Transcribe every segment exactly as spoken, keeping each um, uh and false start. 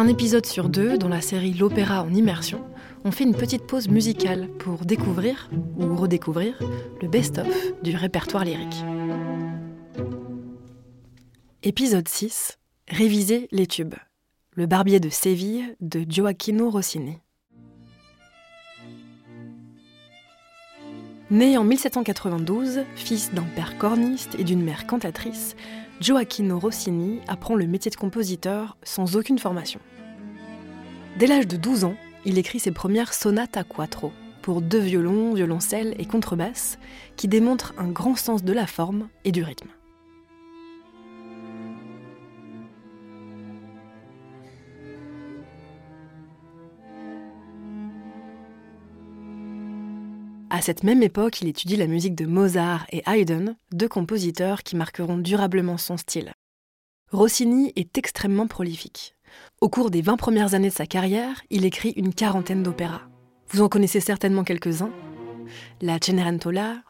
Un épisode sur deux, dans la série L'Opéra en immersion, on fait une petite pause musicale pour découvrir, ou redécouvrir, le best-of du répertoire lyrique. Épisode six, réviser les tubes. Le Barbier de Séville de Gioacchino Rossini. Né en mille sept cent quatre-vingt-douze, fils d'un père corniste et d'une mère cantatrice, Gioacchino Rossini apprend le métier de compositeur sans aucune formation. Dès l'âge de douze ans, il écrit ses premières sonates à quattro, pour deux violons, violoncelle et contrebasse, qui démontrent un grand sens de la forme et du rythme. À cette même époque, il étudie la musique de Mozart et Haydn, deux compositeurs qui marqueront durablement son style. Rossini est extrêmement prolifique. Au cours des vingt premières années de sa carrière, il écrit une quarantaine d'opéras. Vous en connaissez certainement quelques-uns. La Cenerentola,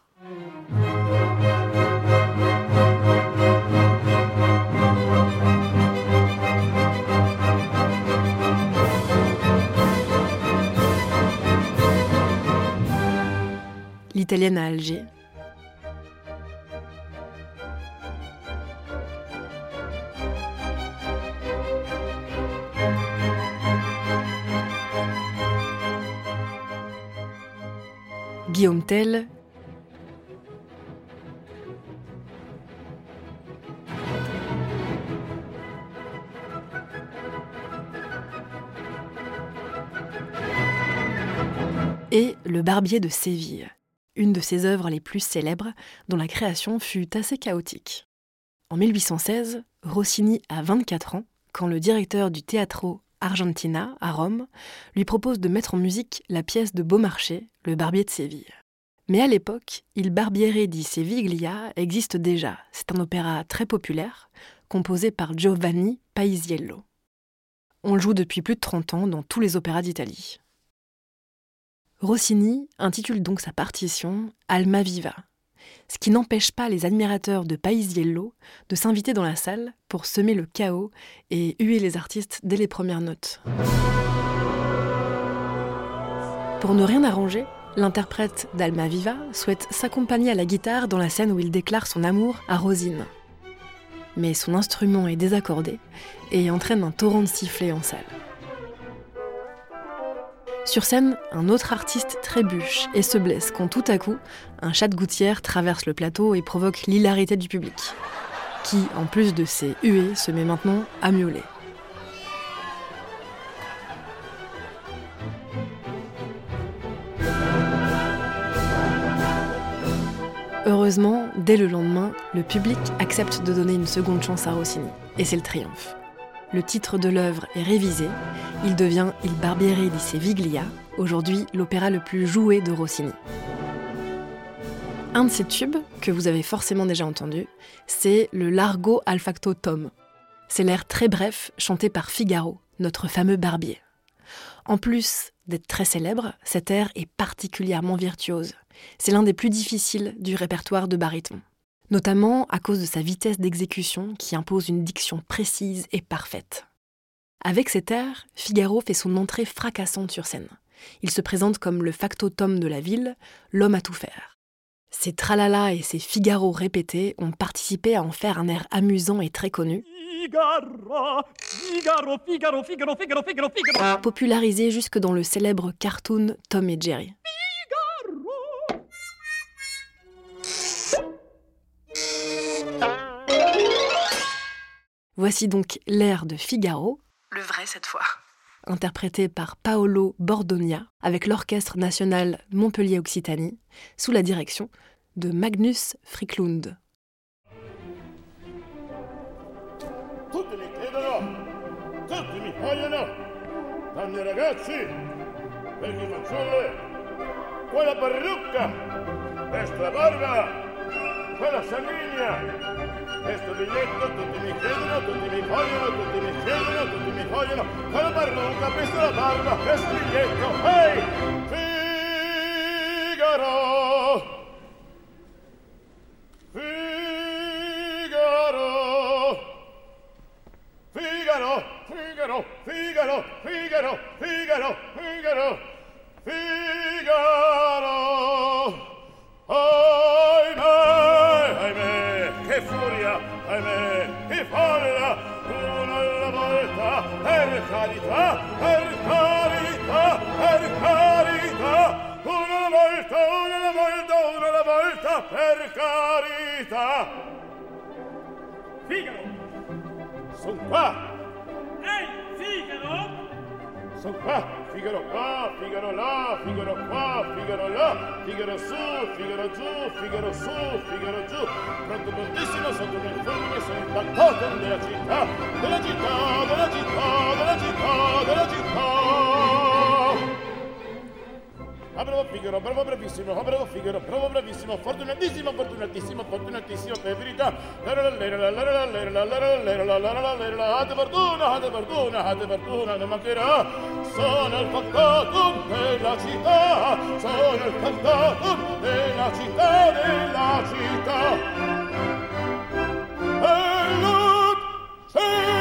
l'Italienne à Alger, Guillaume Tell, et Le Barbier de Séville, une de ses œuvres les plus célèbres, dont la création fut assez chaotique. En mille huit cent seize, Rossini a vingt-quatre ans, quand le directeur du Teatro Argentina, à Rome, lui propose de mettre en musique la pièce de Beaumarchais, Le Barbier de Séville. Mais à l'époque, Il Barbiere di Seviglia existe déjà. C'est un opéra très populaire, composé par Giovanni Paisiello. On le joue depuis plus de trente ans dans tous les opéras d'Italie. Rossini intitule donc sa partition Almaviva, ce qui n'empêche pas les admirateurs de Paisiello de s'inviter dans la salle pour semer le chaos et huer les artistes dès les premières notes. Pour ne rien arranger, l'interprète d'Almaviva souhaite s'accompagner à la guitare dans la scène où il déclare son amour à Rosine. Mais son instrument est désaccordé et entraîne un torrent de sifflets en salle. Sur scène, un autre artiste trébuche et se blesse quand tout à coup, un chat de gouttière traverse le plateau et provoque l'hilarité du public, qui, en plus de ses huées, se met maintenant à miauler. Heureusement, dès le lendemain, le public accepte de donner une seconde chance à Rossini, et c'est le triomphe. Le titre de l'œuvre est révisé, il devient Il Barbiere di Seviglia, aujourd'hui l'opéra le plus joué de Rossini. Un de ces tubes, que vous avez forcément déjà entendu, c'est le Largo al factotum. C'est l'air très bref chanté par Figaro, notre fameux barbier. En plus d'être très célèbre, cet air est particulièrement virtuose. C'est l'un des plus difficiles du répertoire de baryton, notamment à cause de sa vitesse d'exécution qui impose une diction précise et parfaite. Avec cet air, Figaro fait son entrée fracassante sur scène. Il se présente comme le factotum de la ville, l'homme à tout faire. Ses tralala et ses Figaro répétés ont participé à en faire un air amusant et très connu, Figaro, Figaro, Figaro, Figaro, Figaro, Figaro, Figaro, popularisé jusque dans le célèbre cartoon Tom et Jerry. Voici donc l'air de Figaro, le vrai cette fois, interprété par Paolo Bordogna avec l'Orchestre national Montpellier-Occitanie, sous la direction de Magnus Friklund. Tutti mi chiedono, tutti mi vogliono, donne e ragazzi, vecchi fanciulle, quella parrucca, questa barba, quella sanguigna. Questo biglietto tutti mi chiedono, tutti mi vogliono, tutti mi chiedono, tutti mi vogliono. Quella parrucca, questa la barba, questo biglietto. Ehi! Figaro! Figaro! Figaro! Figaro! Figaro! Figaro, Figaro, Figaro, Figaro. Ahimè, ahimè, che furia, ahimè, che folla, una alla volta, per carità, per carità, per carità, una alla volta, una alla volta, una alla volta, per carità. Figaro! Son qua! Ehi, Figaro! Son qua! Figaro qua, Figaro là, Figaro qua, Figaro là, Figaro su, Figaro giù, Figaro su, Figaro giù. Pronto prontissimo, sotto nel fulmine, sono il factotum della città, della città, della città, della città, della città. Ah, bravo Figaro, bravo bravissimo, ah, bravo Figaro, bravo bravissimo, fortunatissimo, fortunatissimo, fortunatissimo, per verità. Ate fortuna, ate fortuna, ate fortuna, non mancherà. Sono il factotum della città, sono il factotum della città, della città. E la città.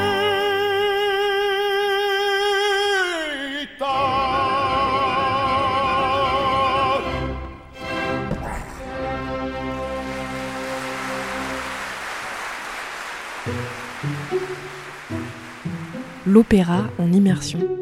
L'opéra en immersion.